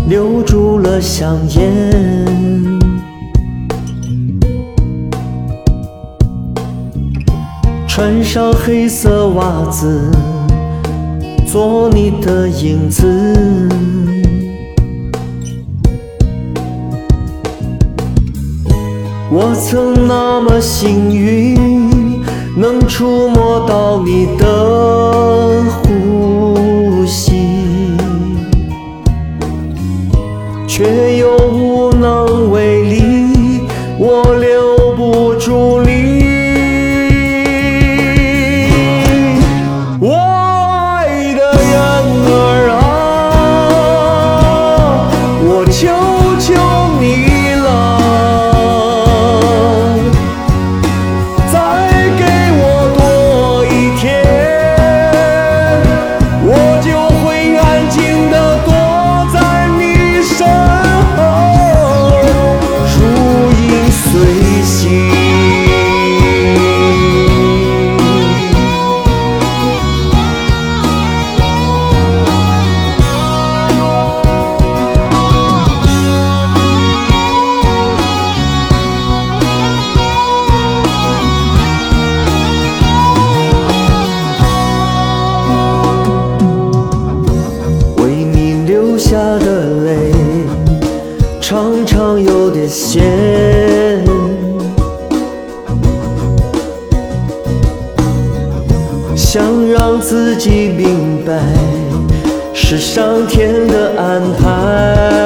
留住了香烟。穿上黑色袜子，做你的影子。我曾那么幸运，能触摸到你的呼吸，却又无能为力，我留不住你。我爱的人儿啊，我求求你了，再给我多一天，我就会安静地躲在你身后，如影随形。流下的泪常常有点咸，想让自己明白是上天的安排。